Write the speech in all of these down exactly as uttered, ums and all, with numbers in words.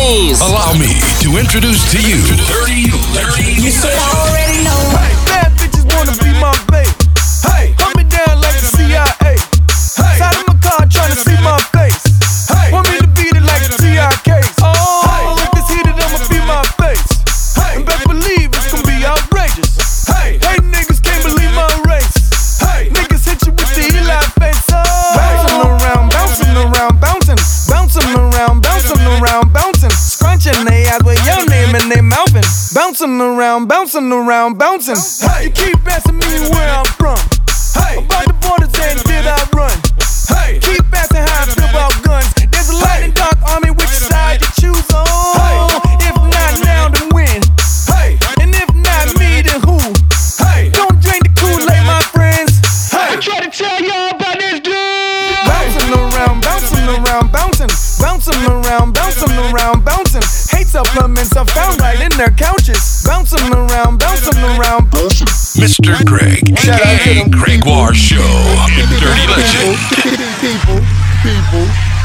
James. Allow me to introduce to you Dirty Legend. You should already know. Hey, bad bitches wanna be my babe. Hey, hold me down like the C I A. Hey, side of my car trying to see my face. Hey, want me to beat it like the T I Ks. Oh, hey, if it's heated, I'ma be my face. Hey, and best believe it's gonna be outrageous. Hey, hey, niggas can't believe my race. Hey, niggas hit you with the Eli face. Oh, bouncing around, bouncing around, bouncing, bouncing around, bouncing around, bouncing, scrunching they eyes with your name and they mouthing, bouncing around, bouncing around, bouncing. Hey, you keep asking me where I'm from. Hey, about the borders and did I run? Hey, keep asking how I feel about guns. There's a light and dark army, which side you choose on? Hey, if not now, then when? Hey, and if not me, then who? Hey, don't drink the Kool-Aid, my friends. Hey, I try to tell y'all about this dude. Bouncing around, bouncing around, bouncing, bouncing around, bouncing around, bouncing. Hate supplements are found right in their couches. Bouncing around, bouncing around, bouncing. Mister Greg, aka Gregoire Show, in Dirty Legend. People, people.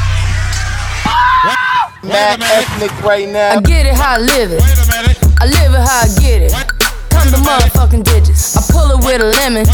Mad ethnic right now. I get it how I live it. I live it how I get it. Come the motherfucking digits. I pull it with a lemon.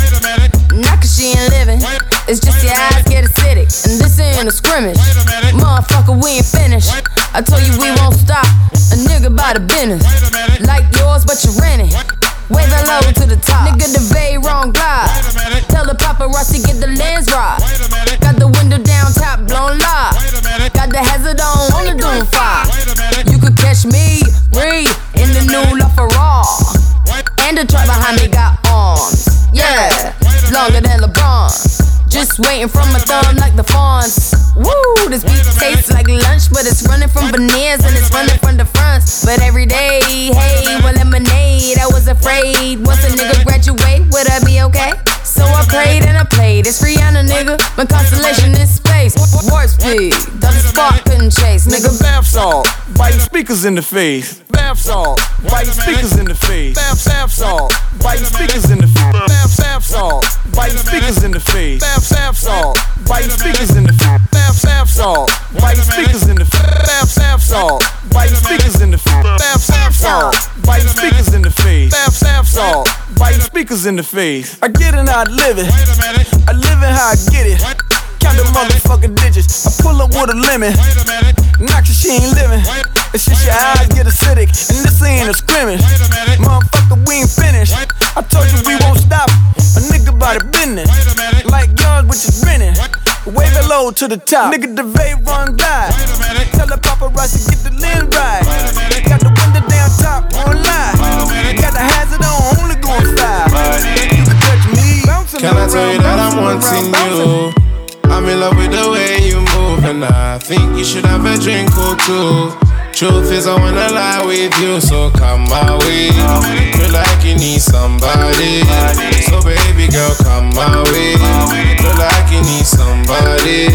Not cause she ain't living. It's just your eyes get acidic. And this ain't a scrimmage. Motherfucker, we ain't finished. I told you we won't stop. A nigga by the business. Like yours, but you rent it. Way the low to the top. Nigga, the Bay wrong glide. Tell the paparazzi get the lens right. Got the window down, top blown live. Got the hazard on, on the doom fire. You could catch me, read in the new LaFerrari. And the truck behind me got arms. Yeah, longer than LeBron. Just waiting from my thumb like the fawns. Woo, this beat tastes like lunch, but it's running from veneers and it's running from the fronts. But every day, hey, well, lemonade, I was afraid. Once a nigga graduate, would I be okay? So I prayed and I played. It's Rihanna, nigga. My constellation in space. Warp speed, the spark couldn't chase, nigga. Bath salt, biting speakers in the face. Bath salt, biting speakers in the face. Bath bath salt, biting speakers in the face. Bath bath salt, biting speakers in the face. Bath bath salt, biting speakers in the face. Bath bath salt, biting speakers in the face. Bath bath salt, biting speakers in the face. Bath bath salt, biting speakers in the face. Bath bath salt, biting speakers in the face. I get it how I live it. I live it how I get it. Count the motherfucking digits. I pull up with a lemon. Knock your she ain't living. It's just your eyes get acidic. And this ain't a scrimmage. Motherfucker, we ain't finished. I told you we won't stop. A nigga by the business. Like yours, which is renting. Wave it low to the top. Nigga, the Bay run glide. Tell the paparazzi get the lens right. Got the window down top, won't lie. Got the hazard on, only going five. You can touch me. Can I tell you that I'm wanting you? I'm in love with the way you move, and I think you should have a drink or two. Truth is, I wanna lie with you, so come my way. Feel like you need somebody, so baby girl, come my way. Feel like you need somebody.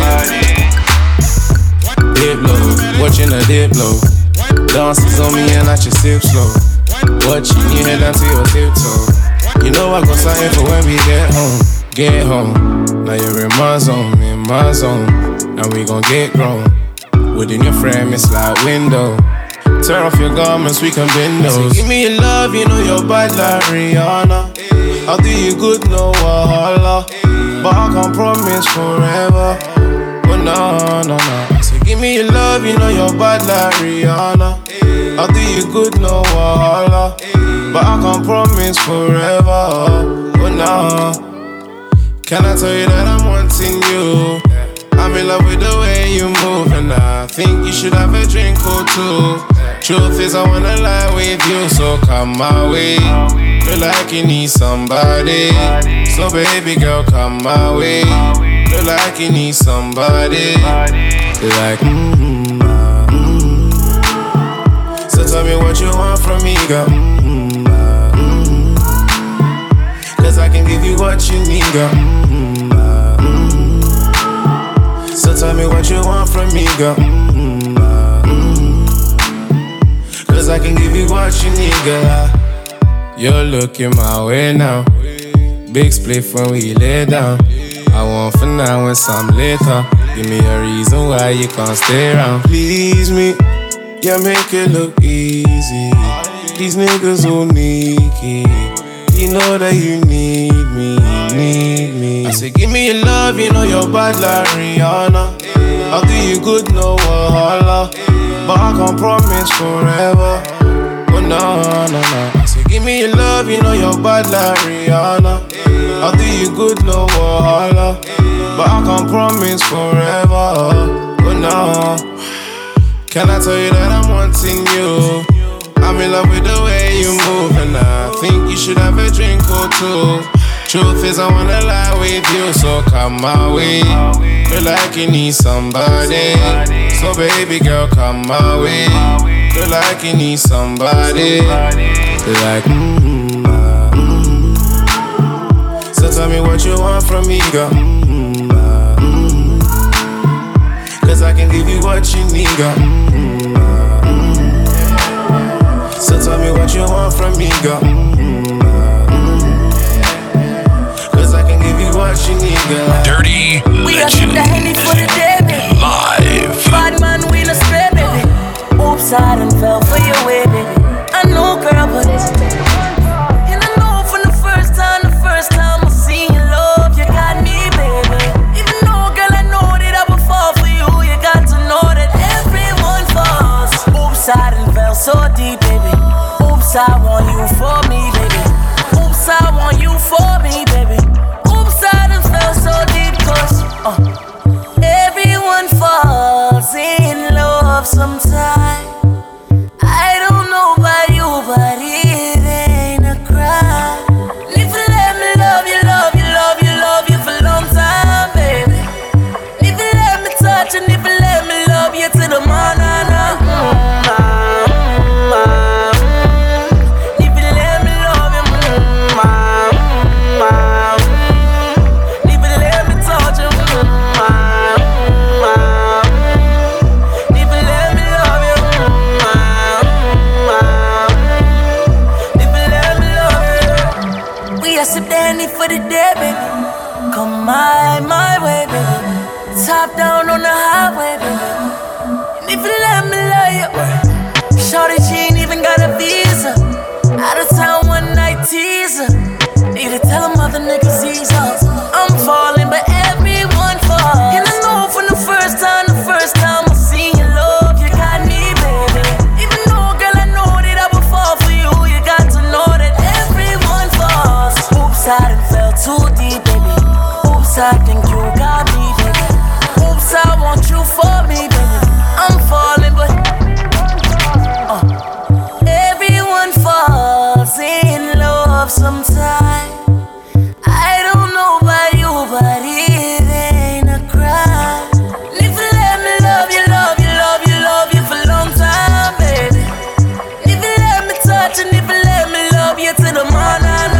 Dip low, watching a dip low. Dances on me and I just sip slow. Watching you head down to your tiptoe. You know I got something for when we get home. Get home. Now you're in my zone, in my zone. Now we gon' get grown. Within your frame, it's like window. Tear off your garments, we can bend those. So give me your love, you know you're bad like Rihanna. I'll do you good, no wahala. But I can't promise forever. Oh no, no, no. So give me your love, you know you're bad like Rihanna. I'll do you good, no wahala. But I can't promise forever. Oh no. Can I tell you that I'm wanting you? I'm in love with the way you move, and I think you should have a drink or two. Truth is, I wanna lie with you, so come my way. Feel like you need somebody, so baby girl, come my way. Feel like you need somebody, like mm-hmm, mm-hmm. So tell me what you want from me, girl. Mm-hmm, mm-hmm. Cause I can give you what you need, girl. Mm-hmm, mm-hmm. So tell me what you want from me, girl. Mm-hmm, mm-hmm. Cause I can give you what you need, girl. You're looking my way now. Big split when we lay down. I want for now and some later. Give me a reason why you can't stay around. Please me, Yeah, make it look easy. These niggas all sneaky. You know that you need me, need me. I say, give me your love, you know you're bad like Rihanna. I'll do you good, no wahala. But I can't promise forever. Oh no, no, no. I say, give me your love, you know you're bad like Rihanna. I'll do you good, no wahala. But I can't promise forever. Oh no. Can I tell you that I'm wanting you? I'm in love with the way you move, and I think you should have a drink or two. Truth is, I wanna lie with you, so come my way. Feel like you need somebody, so baby girl, come my way. Feel like you need somebody, like mm-hmm, mm-hmm. So tell me what you want from me, girl. Mm-hmm, mm-hmm. Cause I can give you what you need, girl. Mm-hmm. So tell me what you want from me, girl. Mm-hmm. Cause I can give you what you need, girl. Dirty We are Legend the Henny for the day, baby. live. Bad man, we no spray, baby. Oops, I done fell for your way, baby. I know, girl, but it's and I know from the first time, the first time I seen your love, you got me, baby. Even though, girl, I know that I would fall for you, you got to know that everyone falls. Oops, I done fell so deep, baby. Oops, I want you for me, baby. Oops, I want you for me, baby. Oops, I done fell so deep, cause uh, everyone falls in love sometime. I don't know about you, but it ain't a crime. If you let me love you, love you, love you, love you for a long time, baby. If you let me touch and if you let me love you to the morning, for the day, baby. Come my, my way, baby. Top down on the highway, baby. And if you let me love you, shorty, she ain't even got a visa. Out of town one night teaser. Need to tell them other niggas ease up. I'm falling, but everyone falls. And I know from the first time, the first time I seen your love, you got me, baby. Even though, girl, I know that I would fall for you, you got to know that everyone falls. Oops, I done fell too deep, baby. Oops, I think you got me, baby. Oops, I want you for me, baby. I'm falling, but uh, everyone falls in love sometime. I don't know about you, but it ain't a crime. And if you let me love you, love you, love you, love you for a long time, baby. If you let me touch and if you let me love you to the morning.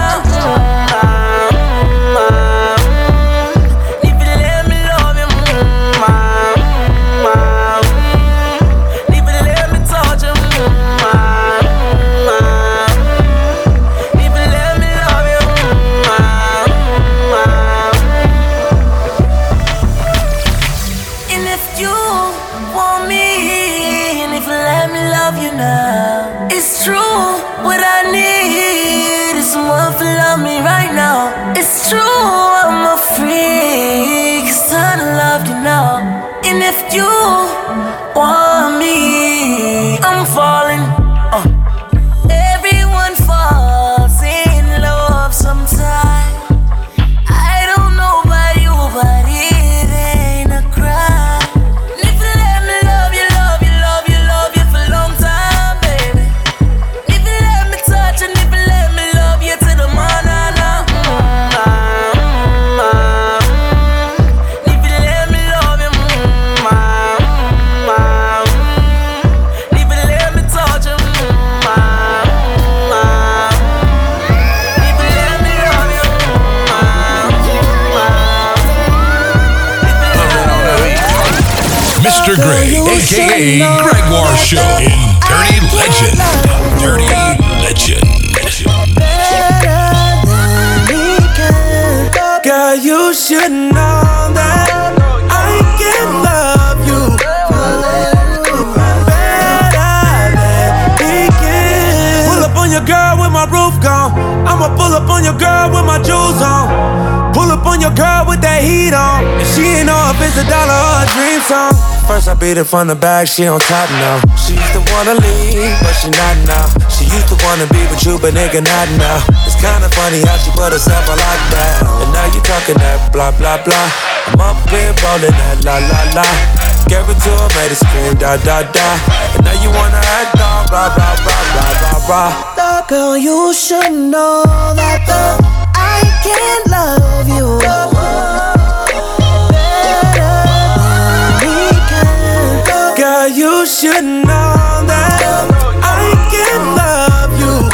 It's true, I'm a freak, son of love, you know. And if you want me, I'm falling. uh. Everyone falls in love sometime. I don't know about you, but it ain't a crime. And if you let me love you, love you, love you, love you for a long time, baby. If you let me touch and if you let me love you to the morning. Mister Greg, a k a. Gregoire Show in Dirty Legend. Dirty Legend. Girl, you should know that I can love you better I'ma pull up on your girl with my jewels on. Pull up on your girl with that heat on. And she ain't know if it's a dollar or a dream song. First I beat it from the back, she on top now. She used to wanna leave, but she not now. She used to wanna be with you, but nigga not now. It's kinda funny how she put herself on lockdown. And now you talking that blah blah blah. I'm up here rolling that la la la. Gave it to her, made it scream da da da. And now you wanna act on blah blah blah blah blah blah. The girl, you should know that the I can't love you better than we can. Girl, you should know that I can love you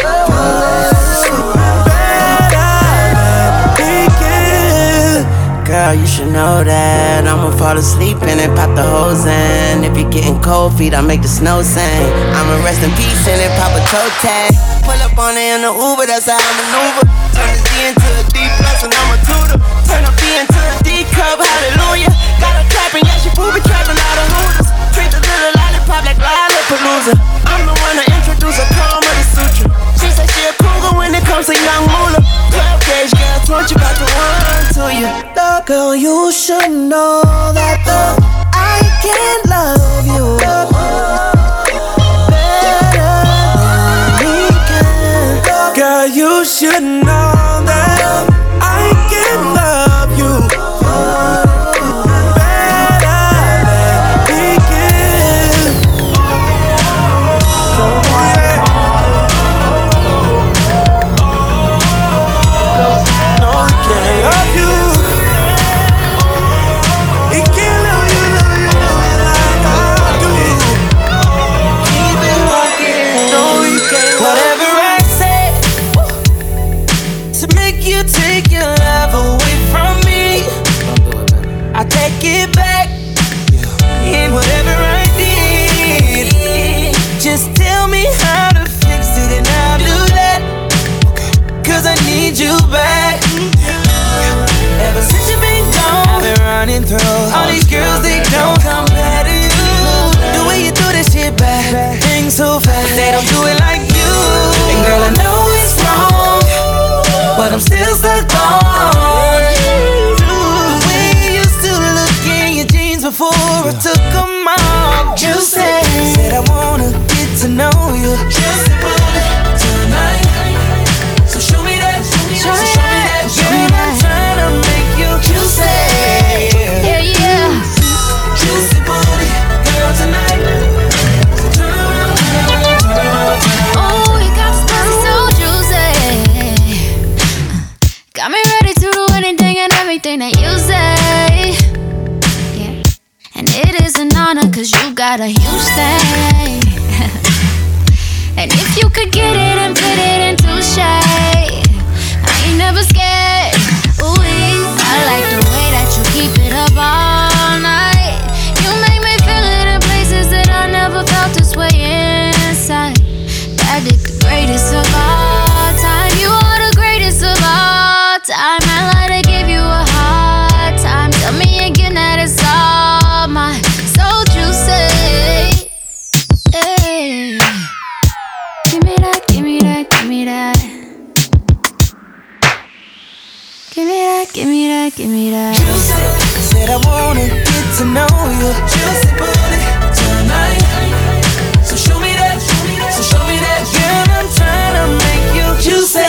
better than we can. Girl, you should know that I'ma fall asleep and then pop the hose in. If you're getting cold feet, I make the snow sing. I'ma rest in peace and then pop a toe tag. Pull up on it in the Uber, that's how I maneuver. Turn the D into a D plus and I'm a tutor. Turn a B into a D cup, hallelujah. Got her clapping, yeah, she booby trapping out of hooters. Treat the little lollipop like Lollapalooza. I'm the one to introduce a calm of the suture. She said she a cougar when it comes to young moolah. twelve gauge girl, twenty about to run to you. The girl, you should know that the I can't love you better than we can. Girl, you should know that I can love you better than we can. No, he can't love you. He can't love you, love you, like I do. Keep it walking. No, he can't. Whatever I say to make you take your love away from me, I take it back. And whatever I did, just tell me how to fix it and I'll do that. Cause I need you back. Ever since you've been gone, I've been running through all these girls, they don't compare to you. The way you do this shit back, things so fast, they don't do it like you. And girl, I know it's wrong, but I'm still stuck on the way you used to look in your jeans before I took them off. You said, said I wanna get to know you. Just about it tonight. So show me that, show me that, show me that. Girl, I'm trying to make you juicy. Yeah, yeah. Juicy booty, girl, tonight. So turn around, turn around, turn around, turn around. Oh, you got this pussy so juicy. Got me ready to do anything and everything that you say. Yeah. And it is an honor cause you got a huge thing. And if you could get it and put it into shade, I ain't never scared. Ooh, I like the way that you keep it up all night. You make me feel it in places that I never felt this way inside. That dick the greatest of all time. You are the greatest of all time. I like to give you a hard time. Tell me again that it's all mine. So juicy. Hey. Give me that, give me that, give me that. Give me that, give me that, give me that. Juicy, said I wanna get to know you. Juicy booty tonight. So show me that, show me that, so show me that. Girl, I'm trying to make you juicy.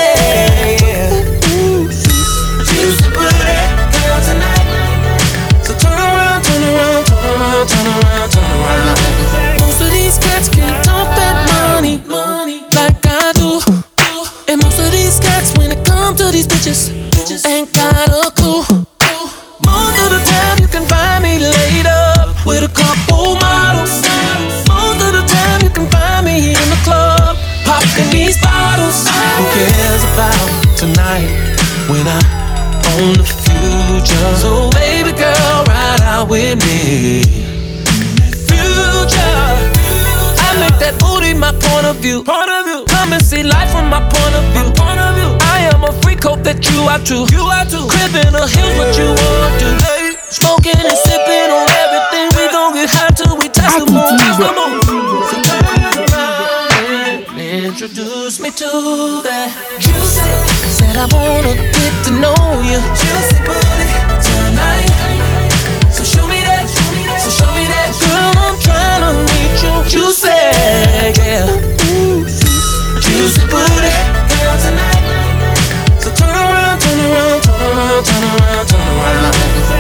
Juicy booty, girl, tonight. So turn around, turn around, turn around, turn around, turn around. Most of these cats can't talk that money, money like I do. And most of these cats, when it comes to these bitches, ain't got a clue. Most of the time you can find me laid up with a couple models. Most of the time you can find me in the club popping these bottles. Who cares about tonight when I own the future? So baby girl, ride out with me. Future, I make that booty my point of view. Point of view. Come and see life from my point of view. Point of view. I am a freak, hope that you are too. You are too. Crib in the hills, what you want to do. Smoking and sipping on everything. We gon' get high till we touch the moon. Touch the moon. So turn around and introduce me to that juicy. but I wanna get to know you. Juicy booty tonight. So show me that, so show me that. Girl, I'm tryna meet you. Juicy, yeah. Juicy booty, girl tonight. So turn around, turn around, turn around, turn around, turn around.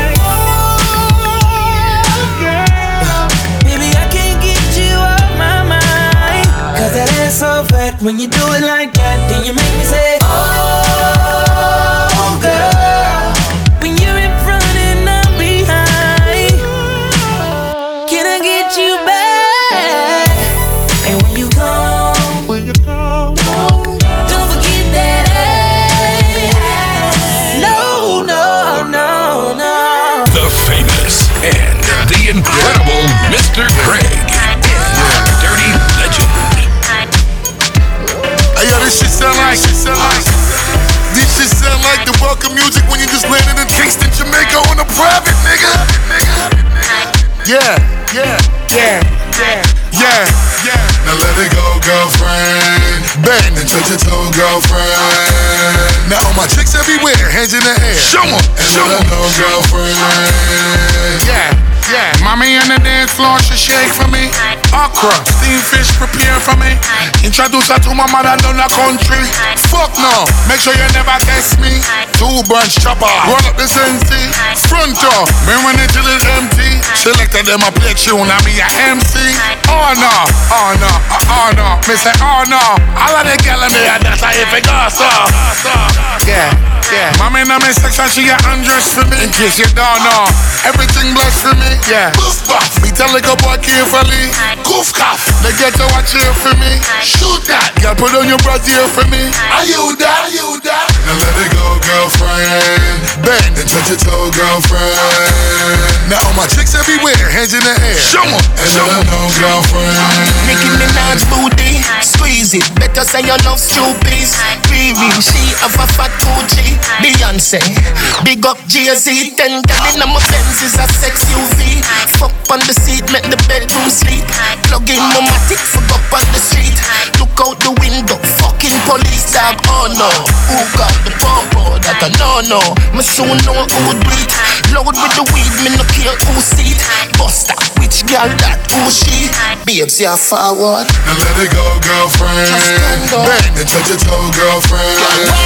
Baby, I can't get you off my mind. Cause that ass so fat. When you do it like that, then you make me say, oh, girl. When you're in front and I'm behind, can I get you back? And when you come, when you come, don't forget that ass. No, no, no, no. The famous and the incredible Mister Greg. Dirty Legend. Hey, yo, this shit sound like, shit sound like, this shit sound like the welcome music when you just landed in Kingston, Jamaica on a private, nigga. Yeah, yeah, yeah, yeah, yeah, yeah. Now let it go, girlfriend. Bang and touch your toe, girlfriend. Now all my chicks everywhere, hands in the air. Show 'em, and show 'em. let her know, girlfriend. Yeah. Yeah, mommy on the dance floor, she shake for me. Okra, steamed fish prepare for me. Introduce her to my mother down the country. Fuck no, make sure you never test me. Two bunch chopper, roll up the sensei. Front door, me run it till it's empty. Selected them a play tune, I be a M C. Oh no, oh no, oh no, me say oh no. All of the gal in there, that's how if it goes so. Yeah. Yeah, mommy in my section, she a undressed for me. In case you don't know, everything blessed for me. Yeah, goof buff. Me tell the good boy carefully. Goof cough. They get to watch here for me. Shoot that. Girl, put on your brassiere for me. Are you that? Are you that? Now let it go, girlfriend. Bend and touch your toe, girlfriend. Now all my chicks everywhere, hands in the air. Show 'em, and show let 'em. her know, girlfriend. Nicki Minaj booty, squeeze it. Better say you love stupid. Riri, she have a fat Gucci. Beyonce, big up Jay-Z. Ten gal in my Benz is a sex U V. Fuck on the seat, make the bedroom sleep. Plug in my matic, fuck up on the street. Look out the window, fucking police dog. Oh no, who got the pump? That I know no. Me soon know who do it. Load with the weed, me no care who see it. Buster, which girl that who she? Babes, yeah forward. Now let it go, girlfriend. Bang and touch your toe, girlfriend.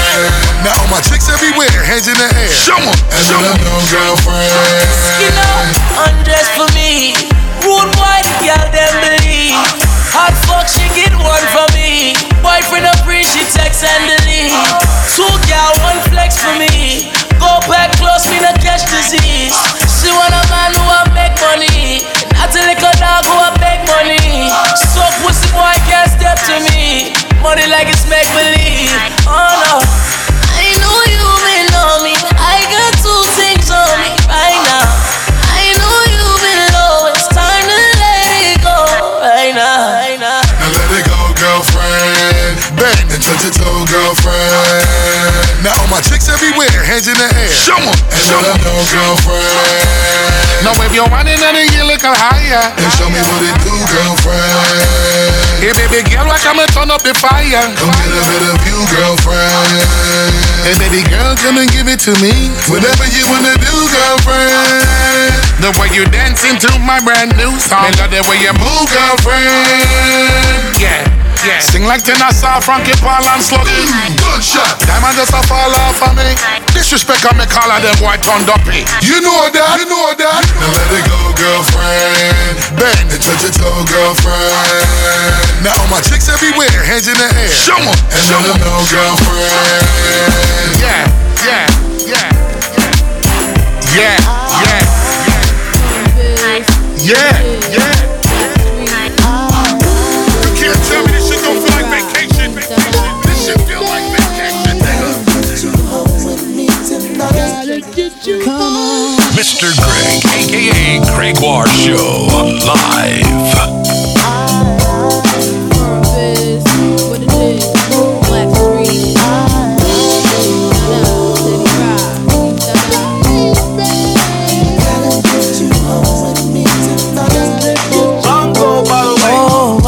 Now all my chicks everywhere, hands in the air. Show 'em, and show let 'em. her know, girlfriend. You know, undress for me. Rude boy, the girl them believe. Hot fuck, she get one for me. Boyfriend up free, she text and delete. Two gal, one flex for me. Go back close, me no catch disease. She want a man who a make money. Not a little dog who a beg money. So pussy boy can't step to me. Money like it's make believe. Oh no, I know you may know me. I got two things on me right now. I know you've been low. It's time to let it go right now. Right now. Now let it go, girlfriend. Bang and touch your toe, girlfriend. Now all my chicks everywhere, hands in the air. Show 'em, and show let her 'em. know, girlfriend. Now if you're running on it, you look higher. Then show me what it do, girlfriend. Hey baby girl, why come and turn up the fire? Come get a bit of you, girlfriend. Hey baby girl, come and give it to me. Whatever you wanna do, girlfriend. The way you dancing to my brand new song. I love the way you move, girlfriend. Yeah. Yeah. Sing like Tennessee, Frankie Paul and Sluggy. Mm, good shot. Diamond just a fall off of me. Disrespect on me, call of them boy turned up me. You know that, you know that. Now let it go, girlfriend. Bang and touch your toe, girlfriend. Now all my chicks everywhere, hands in the air. Show 'em, and show let 'em. her know, girlfriend. Yeah, yeah, yeah, yeah, yeah, yeah, yeah, yeah. You can't tell me this shit don't feel like vacation. This shit feel like vacation, nigga. Mister Greg, aka Gregoire Show, live.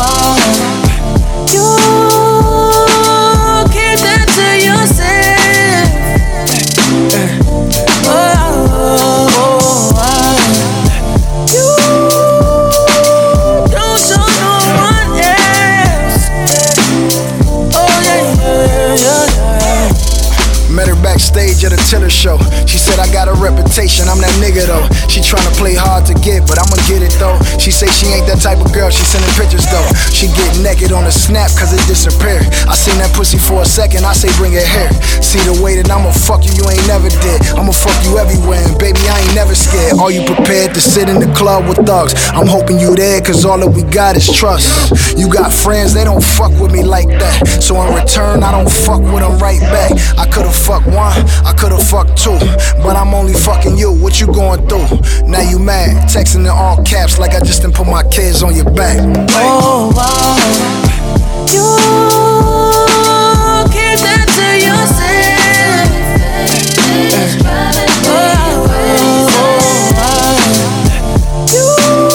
Keep that to yourself. her show. She said I got a reputation, I'm that nigga though. She tryna play hard to get, but I'ma get it though. She say she ain't that type of girl, she sending pictures though. She get naked on a snap cause it disappeared. I seen that pussy for a second, I say bring it here. See the way that I'ma fuck you, you ain't never did. I'ma fuck you everywhere, and baby I ain't never scared. Are you prepared to sit in the club with thugs? I'm hoping you there cause all that we got is trust. You got friends, they don't fuck with me like that. So in return, I don't fuck with them right back. I could've fucked one, I could've fucked two, but I'm only fucking you. What you going through? Now you mad, texting in all caps like I just done put my kids on your back. Oh wow, you keep that to yourself. Oh, oh, oh. You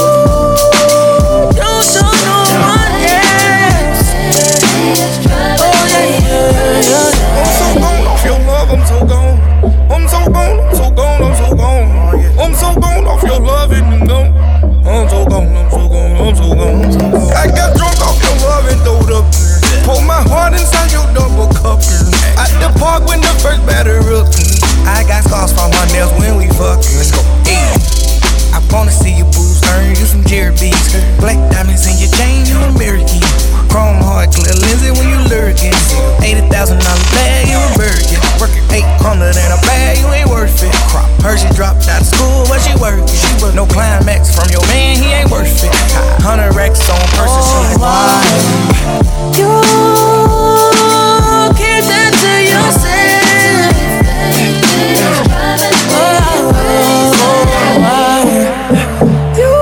don't show no one else. Oh yeah, yeah, yeah. I'm so gone off your love, I'm so gone. I'm so gone, I'm so gone, I'm so gone. I'm so gone off your love and I'm gone. I'm so gone, I'm so gone, I'm so gone. I got drunk off your love and throwed up. Pour my heart inside your double cup. At the park when the first batter up. I got scars from my nails when we fuckin'. Let's go. Hey. I wanna see your boobs earn you some Jerry B's. Black diamonds in your chain, you American. Chrome hard, clear lenses when you lurking. eighty thousand dollar bag, you a virgin. Working eight hundred in a bag, you ain't worth it. Heard she dropped out of school, but she working. She work no climax from your man, he ain't worth it. Hundred racks on person, she like, why? You keep that to yourself. Oh, oh, oh. You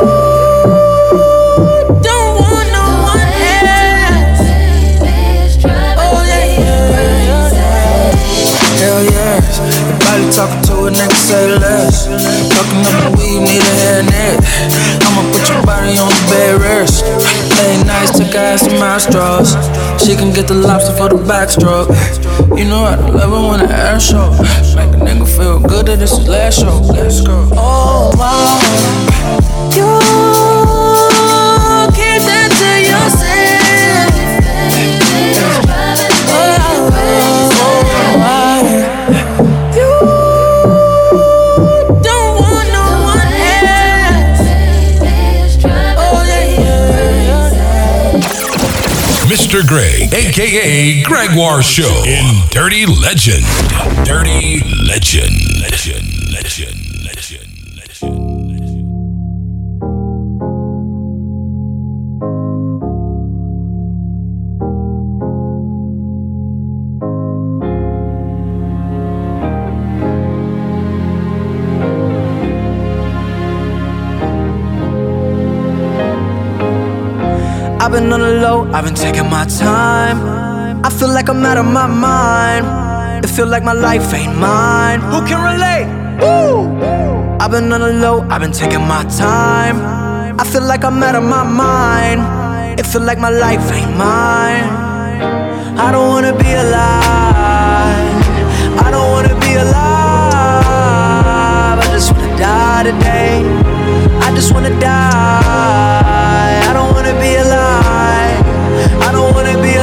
don't want no one else. Oh yeah, yeah, yeah. Hell yes, your body talking to a nigga, say less. Talking up the weed, need a hair net. I'ma put your body on the bed rest. Late nights, took her ass to my straws. She can get the lobster for the backstroke. You know I love it when the air show. Make a nigga feel good that this is last show. Let's go. Oh wow, you keep that to yourself. Oh, oh, oh. You don't want no one else. Oh yeah, yeah, yeah. Mister Greg, aka Gregoire Show in Dirty Legend. Dirty Legend. Legend. Legend. Legend. Legend. I've been on the low, I've been taking my time. I feel like I'm out of my mind. It feel like my life ain't mine. Who can relate? Woo! I've been on the low, I've been taking my time. I feel like I'm out of my mind. It feel like my life ain't mine. I don't wanna be alive. I don't wanna be alive. I just wanna die today. I just wanna die. I don't wanna be alive. I don't wanna be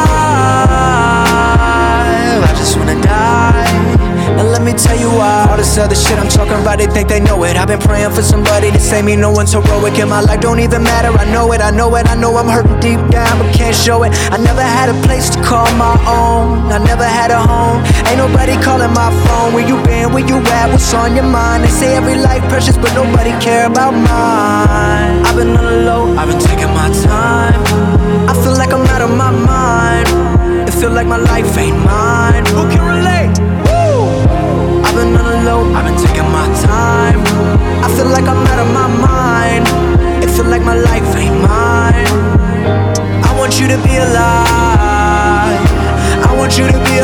alive. I just wanna die. And let me tell you why. All this other shit I'm talking about, they think they know it. I've been praying for somebody to save me, no one's heroic. And my life don't even matter, I know it, I know it. I know I'm hurting deep down, but can't show it. I never had a place to call my own. I never had a home. Ain't nobody calling my phone. Where you been, where you at, what's on your mind? They say every life precious, but nobody care about mine. I've been on the low, I've been taking my time. I feel like I'm out of my mind. It feel like my life ain't mine. Who can relate? I've been on the low, I've been taking my time. I feel like I'm out of my mind. It feel like my life ain't mine. I want you to be alive. I want you to be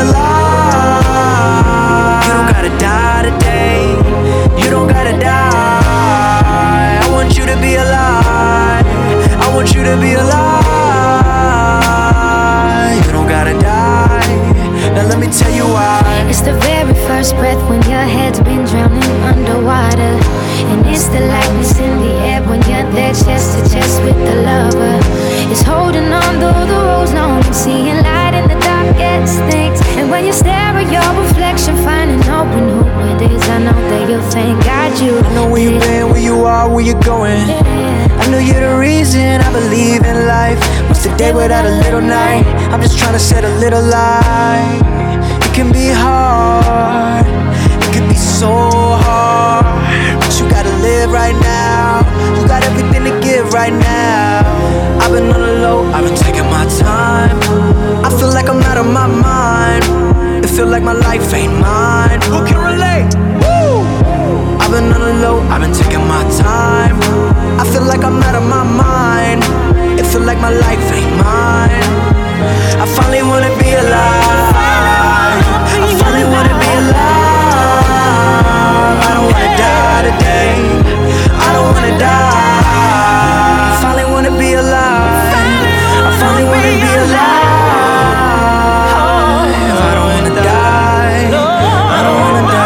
alive. You don't gotta die today. You don't gotta die. I want you to be alive. I want you to be alive. You don't gotta die. Now let me tell you why. It's the very first breath when your head's been drowning underwater. And it's the lightness in the air when you're there chest to chest with the lover. It's holding on though the road's long and seeing light in the darkest things. And when you stare at your reflection, finding open who man, I believe in life. What's the day without a little night? I'm just trying to set a little light. It can be hard, it can be so hard, but you gotta live right now. You got everything to give right now. I've been on the low, I've been taking my time. I feel like I'm out of my mind. It feel like my life ain't mine. Who can relate? Woo! I've been on the low, I've been taking my time. I feel like I'm out of my mind. It feel like my life ain't mine. I finally wanna be alive. I finally wanna be alive. I don't wanna die today. I don't wanna die. I finally wanna be alive. I finally wanna be alive. I don't wanna die. I don't wanna die.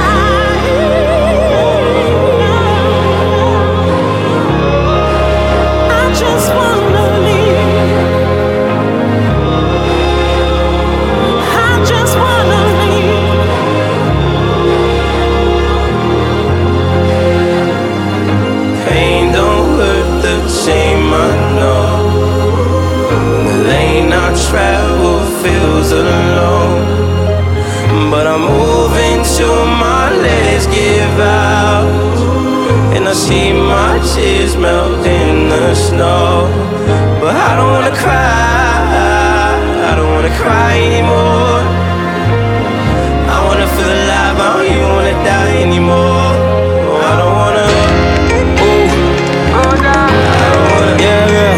Travel feels alone, but I'm moving till my legs give out, and I see my tears melt in the snow. But I don't wanna cry, I don't wanna cry anymore. I wanna feel alive, I don't even wanna die anymore. Oh, I don't wanna, ooh, I don't wanna, yeah, yeah.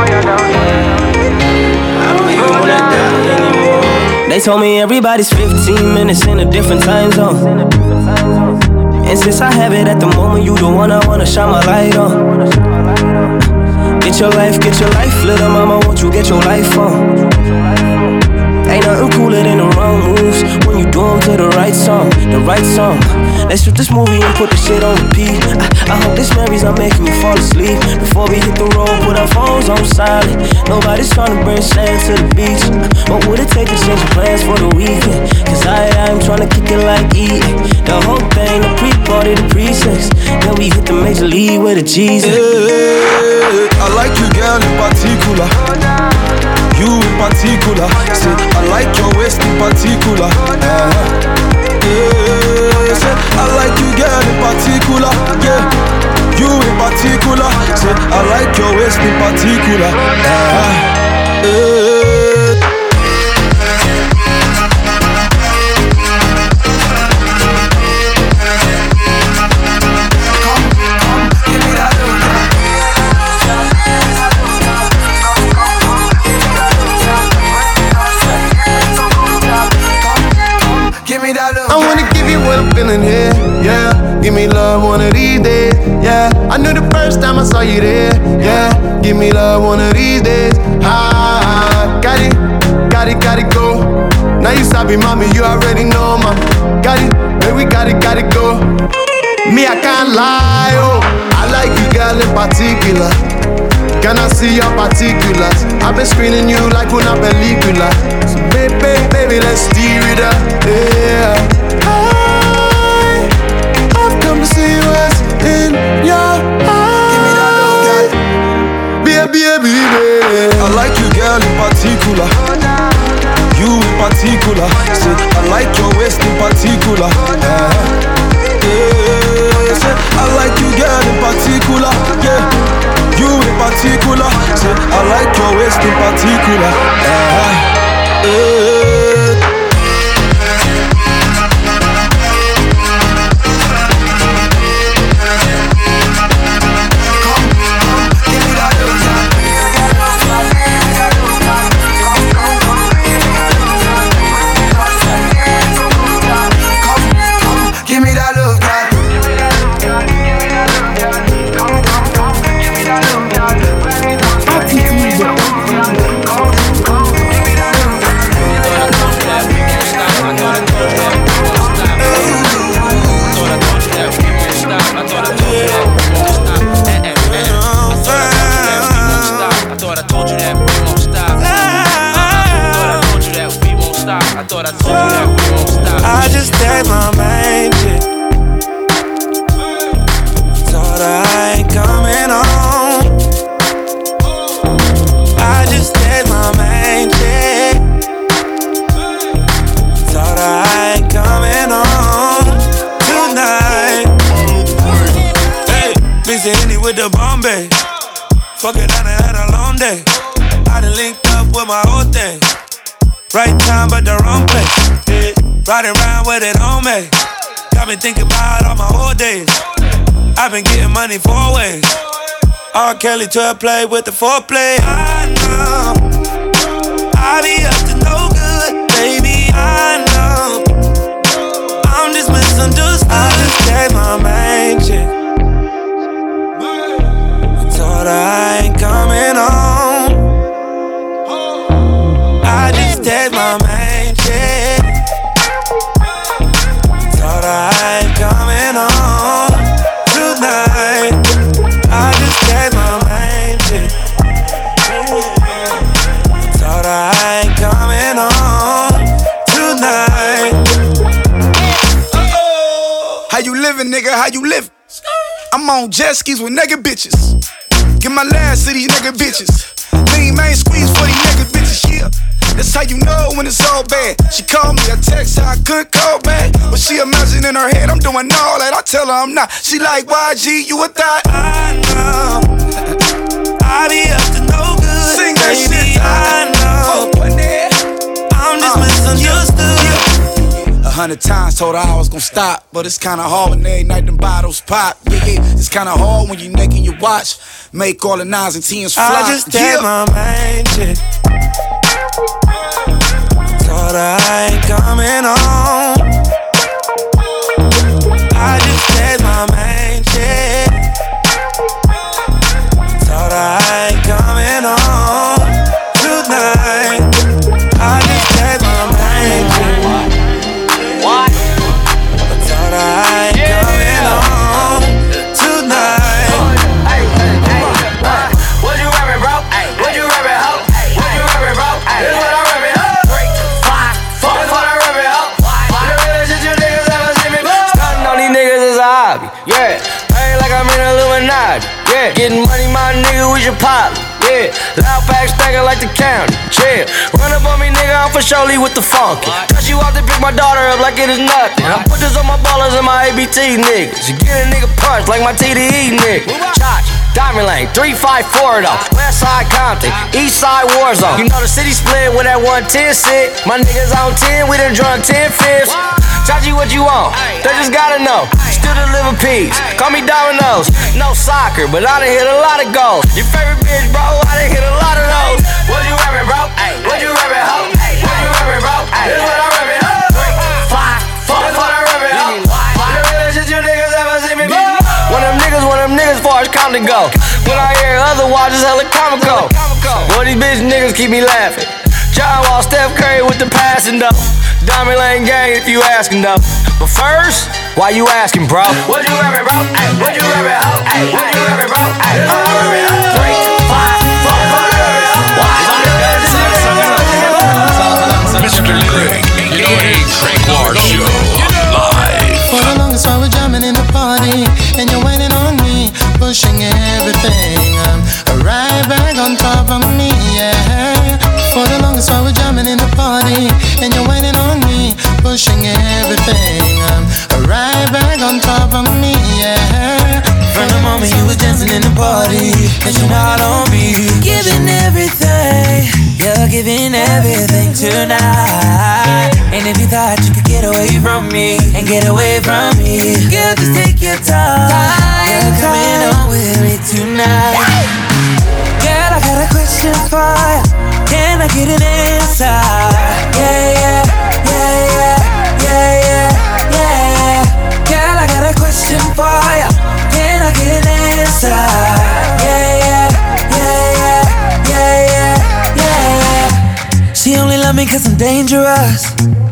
They told me everybody's fifteen minutes in a different time zone. And since I have it at the moment, you the one I wanna shine my light on. Get your life, get your life, little mama, won't you get your life on? Ain't nothing cooler than the wrong moves when you do them to the right song, the right song. Let's shoot this movie and put the shit on repeat. I, I hope this memory's not making you fall asleep. Before we hit the road, put our phones on silent. Nobody's trying to bring sand to the beach. What would it take to change your plans for the weekend? Cause I, I'm trying to kick it like eating. The whole thing, the pre-party, the pre-sex. Then we hit the major league with a Jesus. Hey, I like you, girl, in particular. You in particular. Say, I like your waist in particular. Uh-huh. Yeah, say, I like you, girl, in particular. Yeah, you in particular. Say, I like your waist in particular. Uh-huh. Yeah. I wanna give you what I'm feeling here, yeah. Give me love one of these days, yeah. I knew the first time I saw you there, yeah. Give me love one of these days, ah. Got it, got it, got it, go. Now you sabi, mommy, you already know, mama. Got it, baby, got it, got it, go. Me, I can't lie, oh. I like you, girl, in particular. Can I see your particulars? I've been screening you like una película. So baby, baby, let's steer it up, yeah. I, I've come to see what's in your eyes. Baby, baby, baby. I like you, girl, in particular. You in particular. Say, I like your waist in particular. Uh-huh. Yeah, say, I like you, girl, in particular. Yeah. You in particular, say, I like your waist in particular. Uh, uh. long day. I done linked up with my whole thing. Right time, but the wrong place. Yeah. Riding around with it on me. Got me thinking about all my old days. I've been getting money four ways. R. Kelly to a play with the foreplay. I know I be up to no good, baby. I know I'm just misunderstood. I just gave my main chick. I told her I ain't coming home. I just gave my main chick. I told her I ain't coming home tonight. I just gave my main chick. Told her I ain't coming home tonight. How you living, nigga? How you living? I'm on jet skis with nigga bitches. Get my last to these nigga bitches. Lean main squeeze for these nigga bitches, yeah. That's how you know when it's all bad. She called me, I text her, I couldn't call back. But she imagine in her head, I'm doing all that. I tell her I'm not. She like, Y G, you a thot? I know I be up to no good. Sing that baby, shit. I know I'm just uh, misunderstood. Yeah, yeah. A hundred times told her I was gon' stop, but it's kinda hard when every night them bottles pop. Yeah, yeah, it's kinda hard when you naked your watch. Make all the nines and tens fly. I just did yeah. my main chick. Told her I ain't coming home. I just did my main chick. Told her I ain't coming home tonight. I just did my main chick. What? I told her I ain't yeah. coming home tonight. Hey, hey, hey, what you rapping, bro? Hey, what you rapping, ho? What you rapping, bro? This is what I rapping, ho. Three, five, four. This is what I rapping, ho. The realest shit you niggas ever seen me. Stunting on these niggas is a hobby, yeah. Ain't like I'm in Illuminati, yeah. Getting money, my nigga, we should pop. Yeah, loud packs stacking like the county. Chill, run up on me, nigga, I'm for surely with the funky. Cause you out to pick my daughter up like it is nothing. I put this on my ballers and my A B T niggas. You get a nigga punched like my T D E nigga. Charge, Diamond Lane, three five four though. West side Compton, east side Warzone. You know the city split with that one ten sit. My niggas on ten, we done drunk ten fifths. Chachi, what you want? They just gotta know. Still deliver peace. Call me Domino's. No soccer, but I done hit a lot of goals. Your favorite bitch, bro, I done hit a lot of those. What you rapping, bro? What you rapping, ho? What you rapping, bro? This is what I rapping, ho. Three, five, four. This is what I rapping, ho. The realest shit you niggas ever seen me, bro. One of them niggas, one of them niggas far as counting go. When I hear otherwise, it's hella comical. Boy, these bitch niggas keep me laughing. John Wall, Steph Curry with the passing though. Diamond Lane gang if you asking though. But first, why you asking, bro? What you rapping, bro? Ay, what you rapping, ho? Ay, what you rapping, bro? Ay, what you rapping, ho? Three, five, four, Mister Greg, A K A Gregoire Show, live. For the longest while we're jamming in the party, and you're waiting on me, pushing everything. I'm right back on top of me, yeah. For the longest while we're jamming in the party, and you're waiting on me, pushing everything. I'm right back on top of me, yeah. From the moment you was dancing in the party, and you're not on me, giving everything, you're giving everything tonight. And if you thought you could get away from me, and get away from me, girl, just take your time. You're coming on with me tonight. Girl, I got a question for you. Can I get an answer? Yeah, yeah, yeah, yeah, yeah, yeah, yeah. Girl, I got a question for you. Can I get an answer? Yeah, yeah, yeah, yeah, yeah, yeah, yeah. She only love me cause I'm dangerous.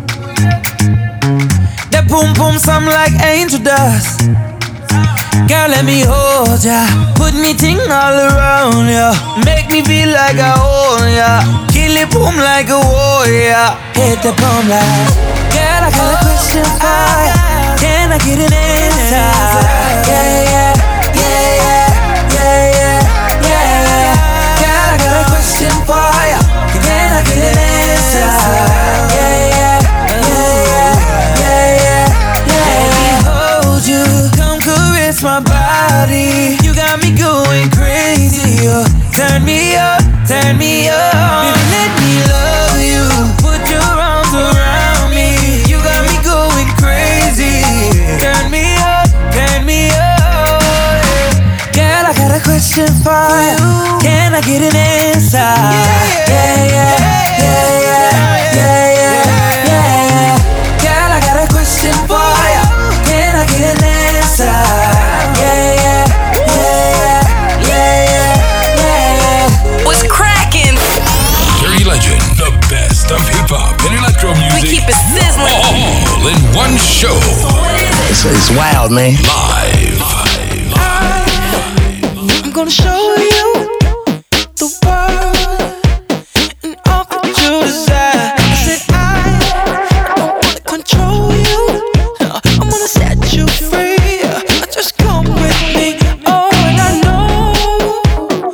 That boom boom sound like angel dust. Girl, let me hold ya. Put me ting all around ya. Make me feel like I own ya. Kill it boom like a warrior. Hit the boom like. Girl, I got a question for ya. Can I get an answer? Yeah, yeah, yeah, yeah, yeah, yeah, yeah. Girl, I got a question for ya. Can I get an answer? Yeah, yeah, yeah, yeah, yeah, yeah. Let me hold you. My body, you got me going crazy. You turn me up. turn me on. Baby, let me love you. Put your arms around me. You got me going crazy. Turn me up, turn me up. Girl, I got a question for you. Can I get an answer? Yeah, yeah, yeah, yeah, yeah, yeah, yeah, yeah. Girl, I got a question for you. Can I get an answer? Yeah, yeah, yeah, yeah, yeah, yeah. What's cracking? Dirty Legend, the best of hip hop and electro music. We keep it sizzling. All in one show. It's, it's wild, man. Live. I'm gonna show you the world and all that you desire. I said I don't wanna control you. I'm gonna set you free. Just come with me. Oh, and I know,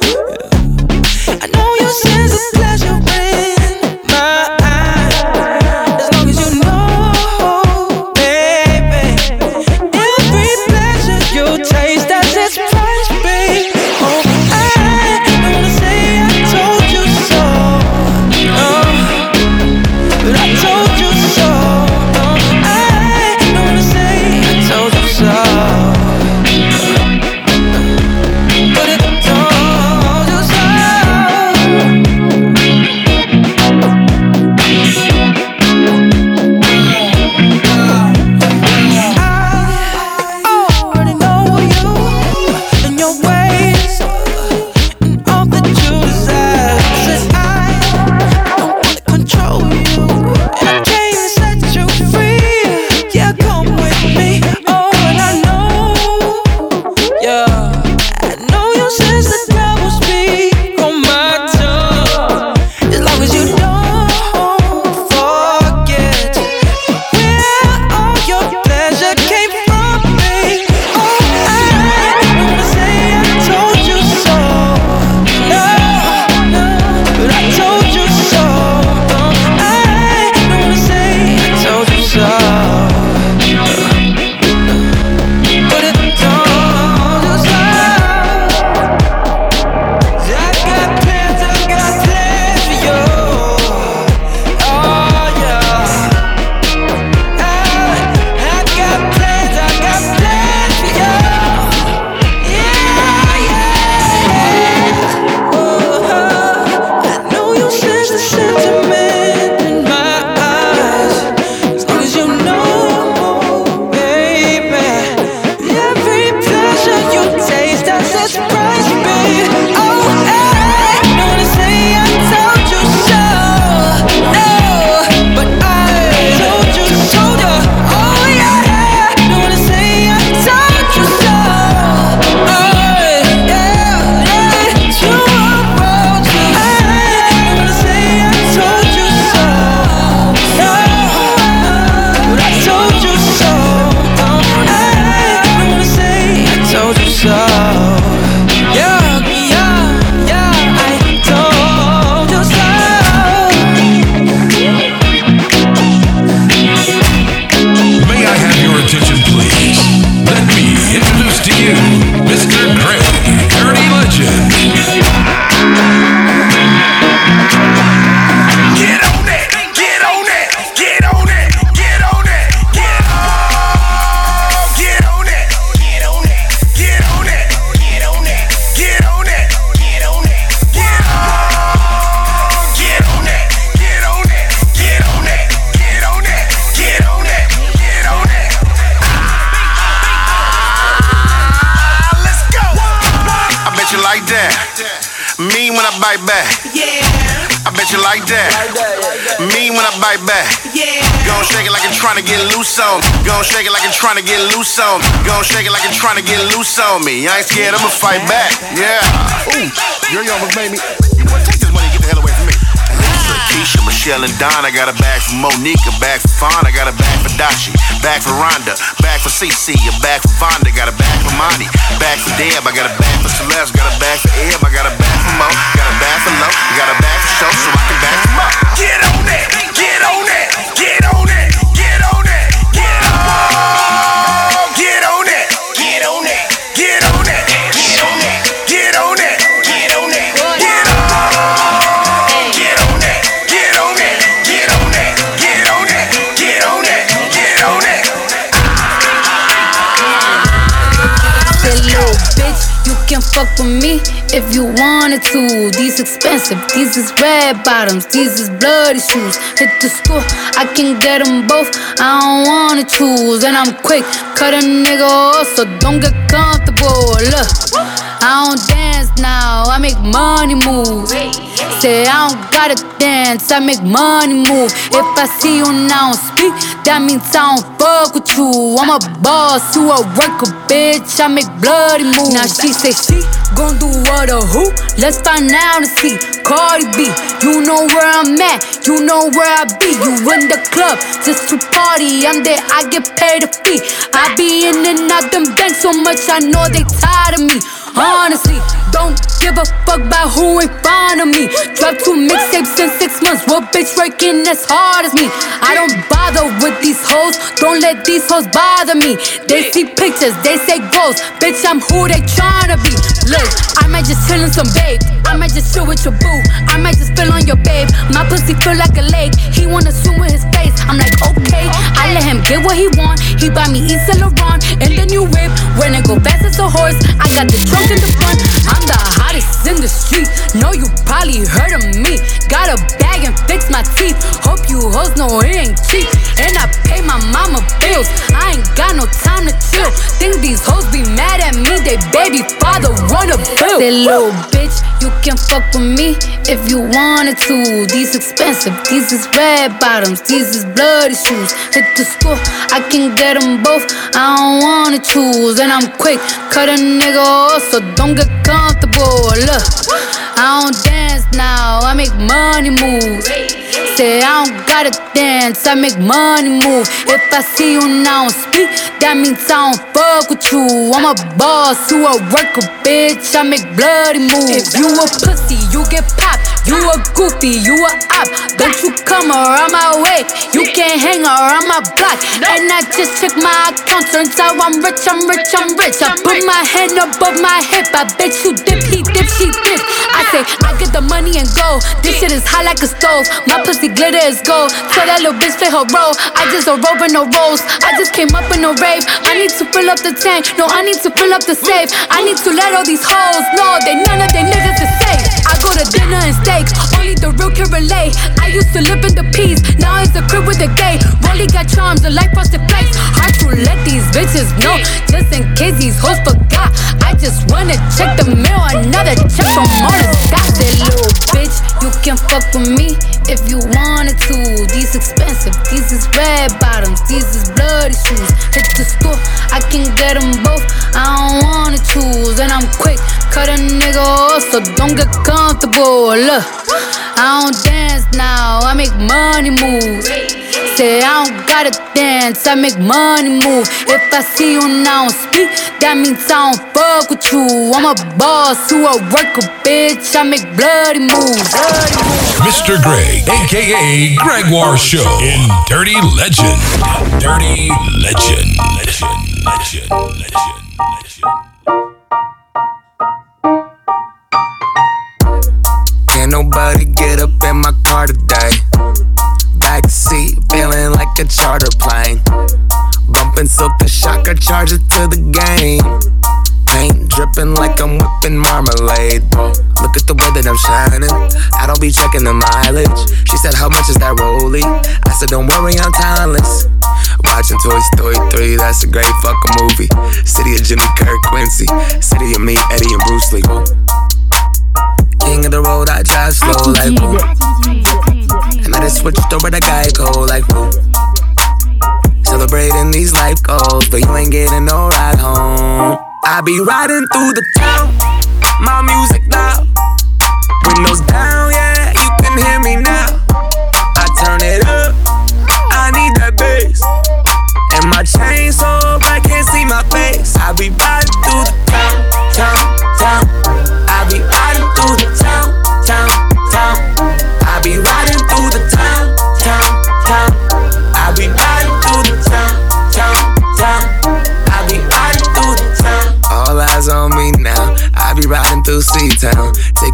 I know your sense of pleasure in my eyes. As long as you know, baby, every pleasure you taste has its price, babe. Oh, I don't wanna say I told you so, no, but I told you so. No, I don't wanna say I told you so, but it told you so. I already know you and your ways and all that you desire. Said I don't wanna control you, and I came to set you free. Yeah, come with me. Oh, and I know, yeah, I know your sense the devil speak on my tongue. As long as you don't forget where all your pleasure came from, babe. Oh, I don't wanna say I told you so, no, no, but I told you so. No, I don't wanna say I told you so, but it told you so. I got plans, I got plans for you. Oh yeah, I, I got plans, I got plans for you. Yeah, yeah. Oh, I know you sense the sentiment in my eyes. As long as you know, baby, every pleasure you taste has its price, babe. Oh, I don't wanna say I told you so, no, but I told you so. Oh yeah, don't wanna say I told you so. Oh yeah, yeah, you wrote you. I don't wanna say I told you so, no, but I told you so. Oh, I don't wanna say I told you so. Yeah, yeah, yeah, I told you so. May I have your attention, please? Let me introduce to you Mister Greg, Dirty Legend. Get on it, get on it, get on it, get on it, get on, get on it, get on it, get on it, get on it, get on it, get on it, get on, get on it, get on it, get on it, get on it, get on it, get on it. Ah, let's go. I bet you like that. Mean when I bite back. Yeah. I bet you like that. Mean when I bite back. Yeah. Gon' shake it like you're trying to get loose on me. Gon' shake it like you're trying to get loose on me. Gon' shake it like you're trying to get loose on me. I ain't scared, I'ma fight back. Yeah. Ooh, you're young, made me. You know what? Take this money and get the hell away from me. Keisha, Michelle, and Don. I got a bag for Monique, a bag for Fawn. I got a bag for Dachi, bag for Rhonda, bag for Cece, a bag for Vonda. Got a bag for Monty, bag for Deb. I got a bag for Celeste, got a bag for Eb. I got a bag for Mo, got a bag for Lo, got a bag for Show, so I can bag them up. Get on it, get on it, get on it, get on it, get on, get on it, get on it, get on it, get on it, get on it, get on it, get on. fuck with me if you wanted to. These expensive, these is red bottoms, these is bloody shoes. Hit the school, I can get them both, I don't wanna choose. And I'm quick, cut a nigga off, so don't get comfortable. Look, I don't dance now, I make money move. Say I don't gotta dance, I make money move. If I see you now speak, that means I don't fuck with you. I'm a boss, you a worker, bitch, I make bloody moves. Now she say she gon' do what or who? Let's find out and see. Cardi B, you know where I'm at, you know where I be. You in the club just to party, I'm there, I get paid a fee. I be in and out them banks so much, I know they tired of me. Honestly, don't give a fuck about who in front of me. Dropped two mixtapes in six months. What bitch working as hard as me? I don't bother with these hoes. Don't let these hoes bother me. They see pictures, they say ghosts. Bitch, I'm who they tryna be. Look, I might just chill in some babe. I might just chill with your boo. I might just spill on your babe. My pussy feel like a lake. He wanna swim with his face. I'm like, okay. I let him get what he want. He buy me East Saint Laurent and the new whip. When it go fast as a horse, I got the trunk in the front. I'm the hottest in the street. Know you probably heard of me. Got a bag and fix my teeth. Hope you hoes know it ain't cheap. And I pay my mama bills. I ain't got no time to chill. Think these hoes be mad at me. They baby father wanna bill. Say little bitch, you can fuck with me if you wanted to. These expensive, these is red bottoms, these is bloody shoes. Hit the school, I can get them both, I don't wanna choose. And I'm quick, cut a nigga off, so don't get comfortable. Look, I don't dance now, I make money move. Say I don't gotta dance, I make money move. If I see you now speak, that means I don't fuck with you. I'm a boss, you a worker, bitch, I make bloody moves. If you a pussy, you get popped. You a goofy, you a op. Don't you come around my way, you can't hang around my block. And I just check my account, turns out I'm rich, I'm rich, I'm rich. I put my hand above my hip, I bet you dip, he dip, she dip. I say, I get the money and go. This shit is hot like a stove, my pussy glitter is gold. Tell that little bitch play her role, I just a rope and no rolls. I just came up in a rave, I need to fill up the tank. No, I need to fill up the safe. I need to let all these hoes know that none of they niggas is safe. I go to dinner and steaks, only the real can relate. I used to live in the peace, now it's the crib with the gay. Rolly got charms, the life frosted flakes. Hard to let these bitches know, just in case these hoes forgot. I just wanna check the mail, another check from all the dots. That little bitch, you can fuck with me if you wanted to. These expensive, these is red bottoms, these is bloody shoes. Hit the school, I can get them both, I don't wanna choose. And I'm quick, cut a nigga off, so don't get comfortable. Look, I don't dance now, I make money move. Say I don't gotta dance, I make money move. If I see you now speak, that means I don't fuck with you. I'm a boss, you a worker, bitch, I make bloody moves. Mister Greg, aka Gregoire Show in Dirty Legend. Dirty Legend. Legend. Legend. Legend. Legend. Can't nobody get up in my car today. Backseat, feeling like a charter plane. Bumping Silka Shocker, charge it to the game. Paint dripping like I'm whipping marmalade. Whoa, look at the way that I'm shining. I don't be checking the mileage. She said, how much is that rollie? I said, don't worry, I'm timeless. Watching Toy Story three, that's a great fucking movie. City of Jimmy Kirk, Quincy. City of me, Eddie and Bruce Lee. Whoa. King of the road, I drive slow like woo. And I just switched over to Geico like woo. Celebrating these life goals, but you ain't getting no ride home. I be riding through the town, my music loud. Windows down, yeah, you can hear me now. I turn it up, I need that bass. And my chain so bright, can't see my face. I be riding through the town, town, town. I be riding through the town, town, town. I be riding through the town, town, town. I be riding through the town, town, town. I be riding through the town. All eyes on me now. I be riding through C-Town.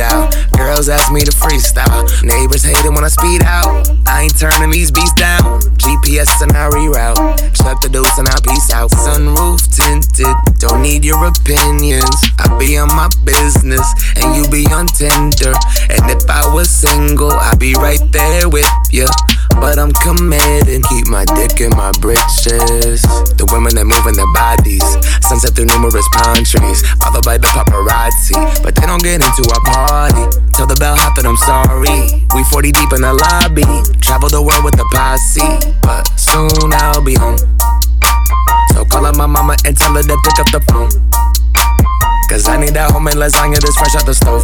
style. Girls ask me to freestyle. Neighbors hating when I speed out. I ain't turning these beats down. G P S and I reroute. Chuck the deuce and I peace out. Sunroof tinted, don't need your opinions. I be on my business and you be on Tinder. And if I was single, I'd be right there with ya. But I'm committed, keep my dick in my britches. The women that moving their bodies, sunset through numerous pine trees, followed by the paparazzi. But they don't get into our party. Tell the bellhop that I'm sorry. We forty deep in the lobby, travel the world with the posse. But soon I'll be home. So call up my mama and tell her to pick up the phone. Cause I need that homemade lasagna that's fresh out the stove.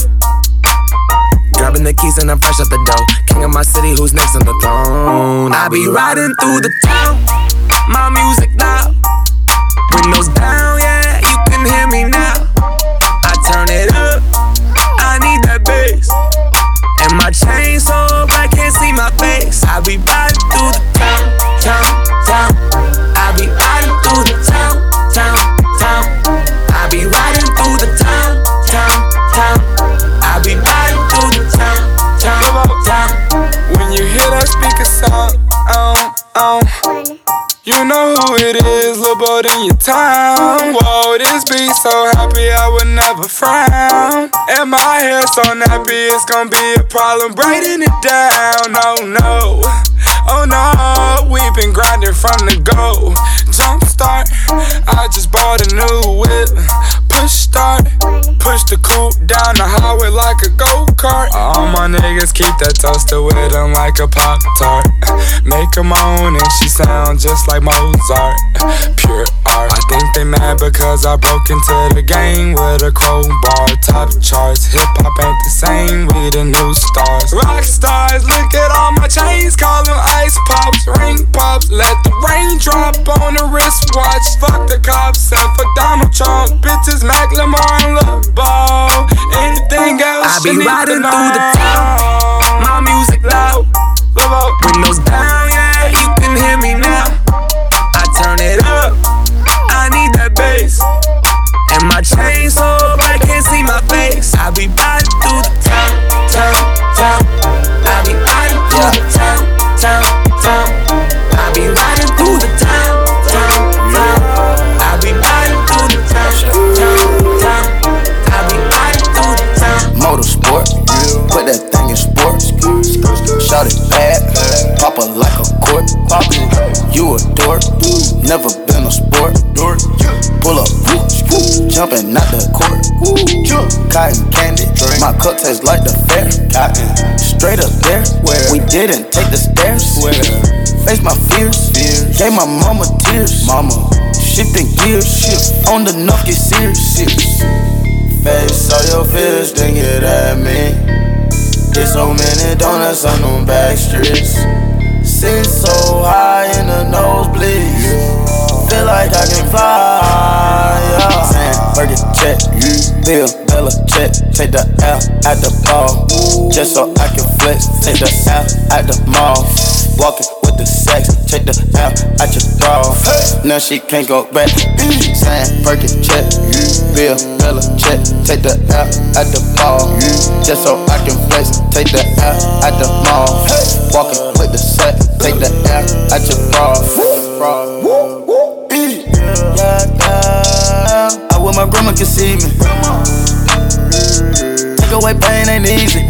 Grabbing the keys and I'm fresh out the dough. King of my city, who's next on the throne? I be riding through the town, my music loud. Windows down, yeah, you can hear me now. I turn it up, I need that bass. And my chain so black, can't see my face. I be riding through the town, town, town. I be riding through the town, town, town. I be riding through the town, town, town. I be riding through the town, town, town. When you hear that speaker sound, um, um, you know who it is, lil' boat in your town. Whoa, this beat so happy I would never frown. And my hair so nappy, it's gonna be a problem braiding it down. Oh no, oh no, we've been grinding from the go. Jump start, I just bought a new whip. Push start, push the coupe down the highway like a go-kart. All my niggas keep that toaster with them like a Pop-Tart. Make her moan and she sound just like Mozart. Pure art. I think they mad because I broke into the game with a crowbar. Top charts, hip-hop ain't the same, we the new stars. Rock stars, look at all my chains, call them ice pops. Ring pops, let the rain drop on the wristwatch. Fuck the cops and for Donald Trump. Bitches Macklemore and Lil Ball. Anything else I be you need riding to know. through the town, my music loud. Windows down, yeah, you can hear me now. I turn it up, I need that bass. And my chain so bright, can't see my face. I be riding through the town, town, town. I be riding through the town, town, town. I be riding through the town, town, town. I be riding through the town, town, town. I be riding through the town. Motorsport, put that thing in sports. Shout it bad, pop it like a court. You a dork, never been a sport. Pull up, jumping out the court. Cotton candy, my cup tastes like the fair. Straight up there, we didn't take the stairs. Face my fears, gave my mama tears. Mama, shifting gears, on the knock get serious. Face all your fears, then get at me. There's so many donuts on them back streets. Sit so high in the nosebleeds. Feel like I can fly, yeah. Saying, Fergie check, Bill, Bella check. Take the L at the ball, just so I can flex. Take the L at the mall, walking with the sex. Take the L at your bra, now she can't go back. Saying, Fergie check, Bill, Bella check. Take the L at the ball, just so I can flex. Take the L at the mall, walking with the sex. Take the L at your bra. Yeah, yeah. I wish my grandma could see me. Take away pain ain't easy.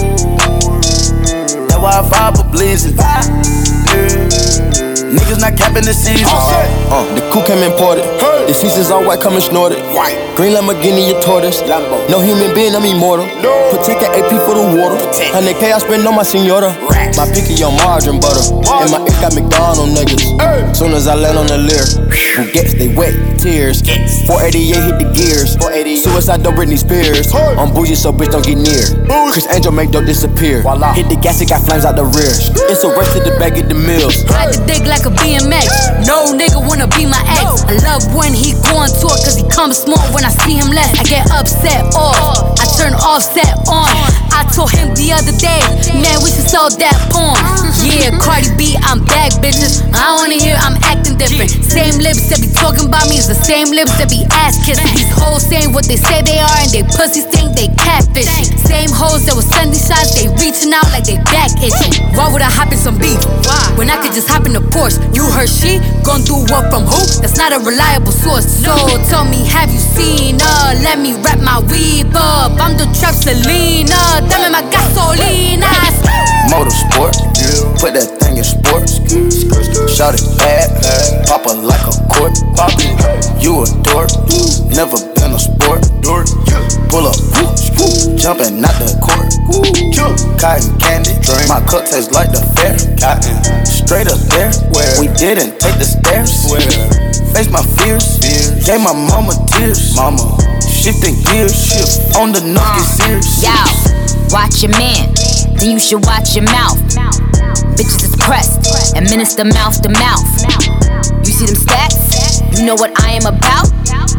That's why I fire for blazing. Niggas not capping the season. Uh, the coupe came imported. The seasons all white, coming snorted. Green Lamborghini, your tortoise. No human being, I'm immortal. Protect the A P for the water. one hundred K I spend on my senora. My picky on margarine butter. And my ink got McDonald's niggas. Soon as I land on the Lear, who gets they wet tears. four eighty-eight hit the gears. Suicide don't Britney Spears. I'm bougie, so bitch don't get near. Chris Angel make dope disappear. Hit the gas, it got flames out the rear. It's a rush to the back of the mills. Ride the dick like a B M X. No nigga wanna be my ex. I love when he go on tour, cause he comes small when I see him less. I get upset off, I turn offset on. I told him the other day, man, we should sell that porn. Yeah, Cardi B, I'm back, bitches. I don't wanna hear I'm acting different. Same lips that be talking about me is the same lips that be ass kissing. These hoes saying what they say they are and they pussies think they catfishing. Same hoes that was sending shots, they reaching out like they back itching. Why would I hop in some beef when I could just hop in the Porsche? You heard she gon' do what from who? That's not a reliable source. So tell me, have you seen her? Let me wrap my weave up. I'm the trap Selena, dame my gasolina. Motorsport, put that thing in sports. Shout it bad, pop her like a court. You a dork, never been a sport. Pull up, jumping out the court. Cotton candy, my cup tastes like the fair. Straight up there, we didn't take the stairs. Face my fears, gave my mama tears. Mama, shifting gears, shift on the knock is serious. Yo, watch your man, then you should watch your mouth. Bitches is pressed, administer mouth to mouth. You see them stats? You know what I am about?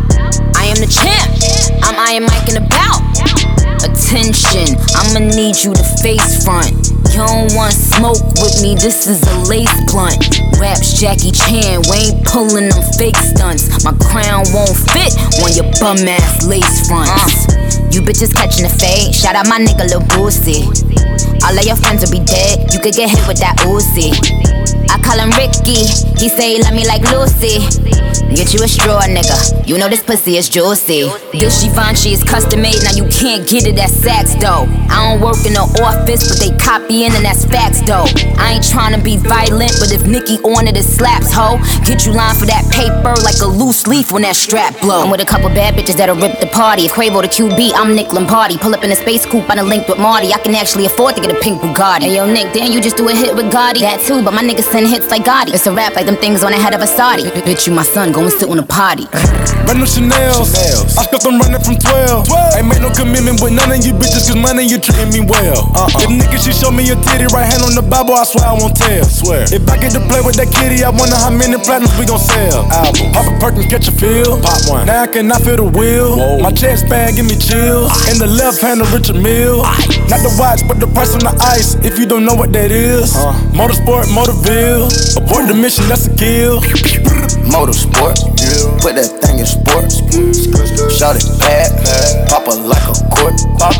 I am the champ, I'm Iron Mike and about. Attention, I'ma need you to face front. You don't want smoke with me, this is a lace blunt. Raps Jackie Chan, we ain't pulling them fake stunts. My crown won't fit on your bum ass lace fronts. uh, You bitches catching the fade, shout out my nigga Lil Boosie. All of your friends will be dead, you could get hit with that Uzi. I call him Ricky, he say he love me like Lucy. Get you a straw, nigga, you know this pussy is juicy. This Givenchy is custom made, now you can't get it at Saks though. I don't work in the office, but they copying and that's facts though. I ain't tryna be violent, but if Nicki on it, it slaps, ho. Get you line for that paper like a loose leaf when that strap blow. I'm with a couple bad bitches that'll rip the party. If Quavo the Q B, I'm Nick Lombardi. Pull up in a space coupe, I done linked with Marty. I can actually afford to get a pink Bugatti. Hey yo Nick, damn you just do a hit with Gotti. That too, but my niggas send hits like Gotti. It's a rap like them things on the head of a Saudi. Bitch, you my son, go and sit on a potty. Brand new Chanel's, I stuck them running from twelve. Ain't made no commitment with none of you bitches, cause money you treating me well. Uh-uh. If niggas she show me your titty, right hand on the Bible, I swear I won't tell. Swear. If I get to play with that kitty, I wonder how many platinums we gon' sell. Album. Pop a Perkins, catch a feel. Pop one. Now I cannot feel the wheel. Whoa. My chest bag give me chills. In the left hand of Richard Mille. Not the watch, but the price on the ice. If you don't know what that is, uh. Motorsport, Motorville. Abort the mission, that's a kill. Motorsport, put that thing in sports. Shout it bad, pop her like a court.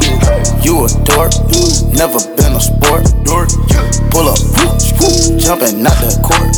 You a dork, never been a sport. Pull up, jumping out the court.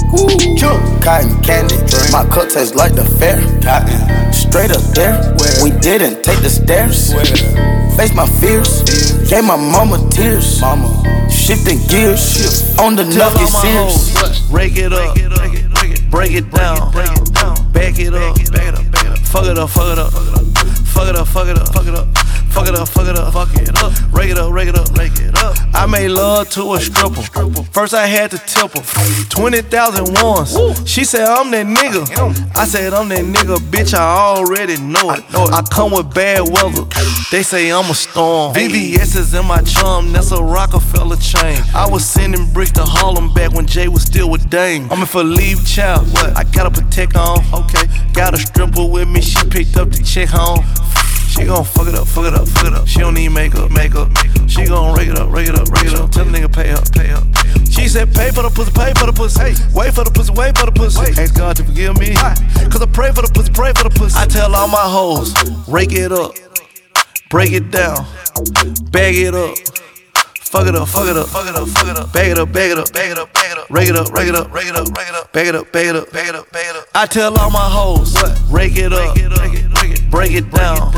Cotton candy, my cup tastes like the fair. Straight up there, we didn't take the stairs. Face my fears, gave my mama tears. Shifting gears, on the nuggets serious. Rake it up, break it down, back it up, fuck it up, fuck it up, fuck it up, fuck it up, fuck it up, fuck it up, fuck it up, fuck it up, rake it up, rake it up, rake it up. I made love to a stripper. First I had to tip her twenty thousand ones. She said I'm that nigga. I said I'm that nigga, bitch. I already know it. I come with bad weather. They say I'm a storm. V V S is in my chum. That's a Rockefeller chain. I was sending bricks to Harlem back when Jay was still with Dame. I'm in for leave child. What? I got a protect on. Okay. Got a stripper with me. She picked up the check home. She gon' fuck it up, fuck it up, fuck it up. She don't need makeup, makeup. She gon' rake it up, rake it up, rake it up. Tell the nigga pay up, pay up. She said pay for the pussy, pay for the pussy. Hey, wait for the pussy, wait for the pussy. Ask God to forgive me, cause I pray for the pussy, pray for the pussy. I tell all my hoes, rake it up, break it down, bag it up. Fuck it up, fuck it up, fuck it up, fuck it up. Bag it up, bag it up, bag it up, bag it up. Rake it up, rake it up, rake it up, rake it up. Bag it up, bag it up, bag it up, bag it up. I tell all my hoes, rake it up, break it down,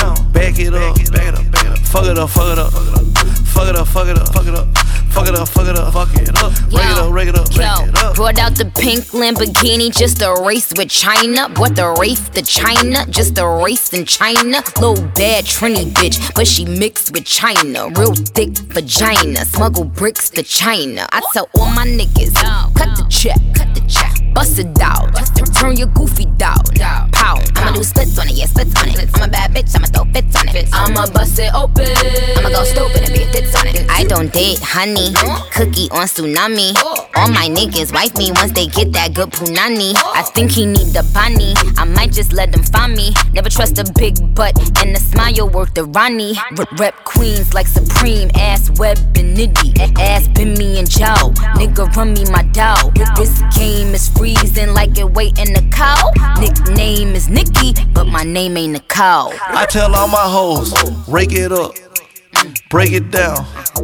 bag it up, bag it up, bag it up. Fuck it up, fuck it up, fuck it up, fuck it up, fuck it up. Fuck it up, fuck it up, fuck it up. Rake it up, rake it up, rake it up. Brought out the pink Lamborghini just a race with China. Brought the Wraith to China, just a race in China. Little bad Trini bitch, but she mixed with China. Real thick vagina, smuggle bricks to China. I tell all my niggas, cut the check, cut the check. Bust it out, turn your goofy down. Pow, I'ma do splits on it, yeah, splits on it. I'm a bad bitch, I'ma throw fits on it. I'ma bust it open, I'ma go stupid and be a fits on it. I don't date honey, cookie on tsunami. All my niggas wife me once they get that good punani. I think he need the bunny. I might just let them find me. Never trust a big butt and a smile worth the Ronnie. R- rep queens like Supreme, ass web and nitty. A- ass been me and Joe. Nigga run me my dog. This game is freezing like it waiting the cow. Nickname is Nikki, but my name ain't a cow. I tell all my hoes, rake it up, break it down,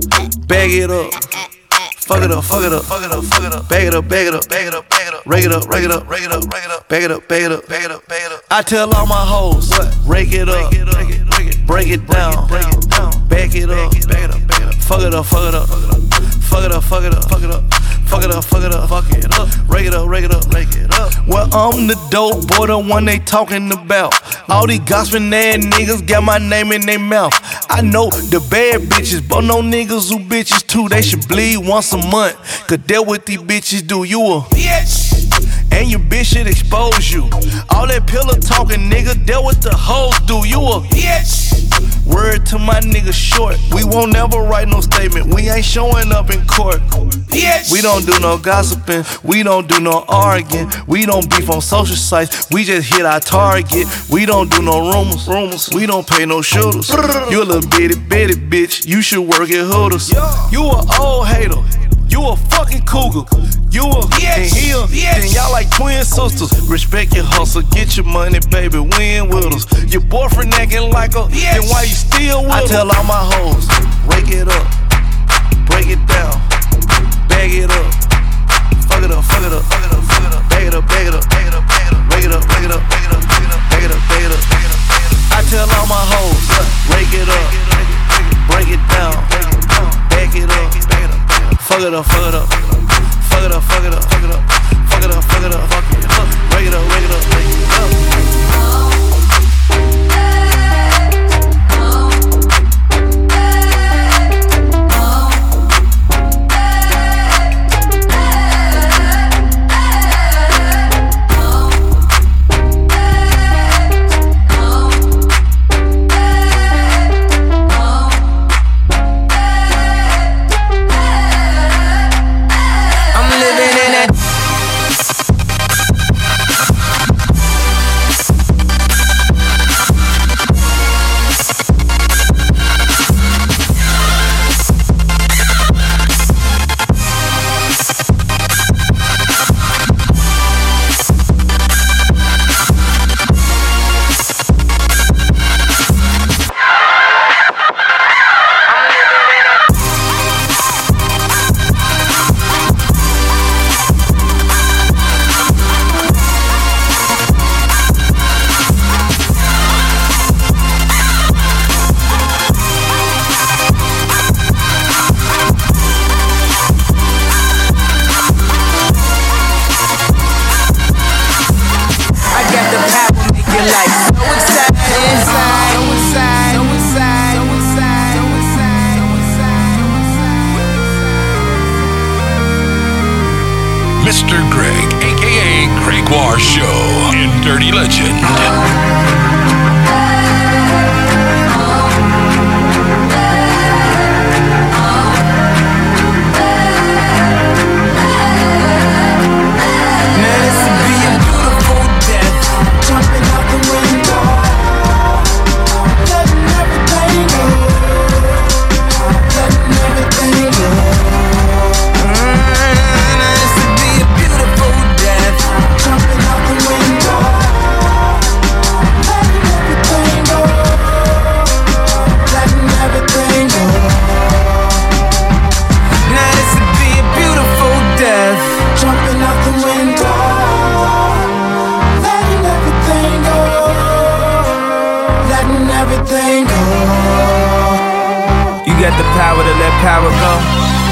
bag it up. Fuck it up, fuck it up, fuck it up, fuck it up. Bag it up, bag it up, bag it up, bag it up. Rake it up, rake it up, rake it up, rake it up. Bag it up, bag it up, bag it up, bag it up. I tell all my hoes, rake it up, break it down, bag it up, bag it up, bag it up. Fuck it up, fuck it up, fuck it up, fuck it up, fuck it up. Fuck it up, fuck it up, fuck it up. Rake it up, rake it up, rake it up. Well, I'm the dope boy, the one they talking about. All these gossiping ass niggas got my name in their mouth. I know the bad bitches, but no niggas who bitches too. They should bleed once a month, cause that what these bitches do. You a bitch, and your bitch should expose you. All that pillow talking, nigga, that what the hoes do. You a bitch. Word to my nigga short, we won't never write no statement. We ain't showing up in court. Bitch. We don't do no gossiping, we don't do no arguing. We don't beef on social sites, we just hit our target. We don't do no rumors, rumors. We don't pay no shooters. You a little bitty bitty bitch, you should work at Hooters. You a old hater, you a fucking cougar. You a and he a, then y'all like twin sisters. Respect your hustle, get your money, baby, win with us. Your boyfriend acting like a, then why you still with I us? Tell all my hoes, rake it up, break it down, bag it up, fuck it up, fuck it up, fuck it up, fuck it up, bag it up, bag it up, bag it up, bag it up, rake it up, rake it up, bag it up, bag it up, bag it up, bag it up, bag it up. I tell all my hoes, rake it up, break it down, bag it up, fuck it up, fuck it up. Fuck it up, fuck it up, fuck it up, fuck it up, fuck it up, fuck it up, break it up, break it up, break it up. Mister Greg, aka Gregoire Show in Dirty Legend. Power to let power go.